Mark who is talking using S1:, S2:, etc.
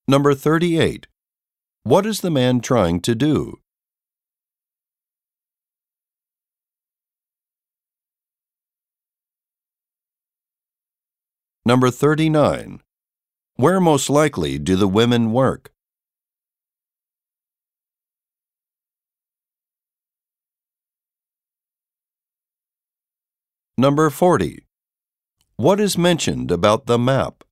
S1: Number 38. What is the man trying to do? Number 39. Where most likely do the women work? Number 40. What is mentioned about the map?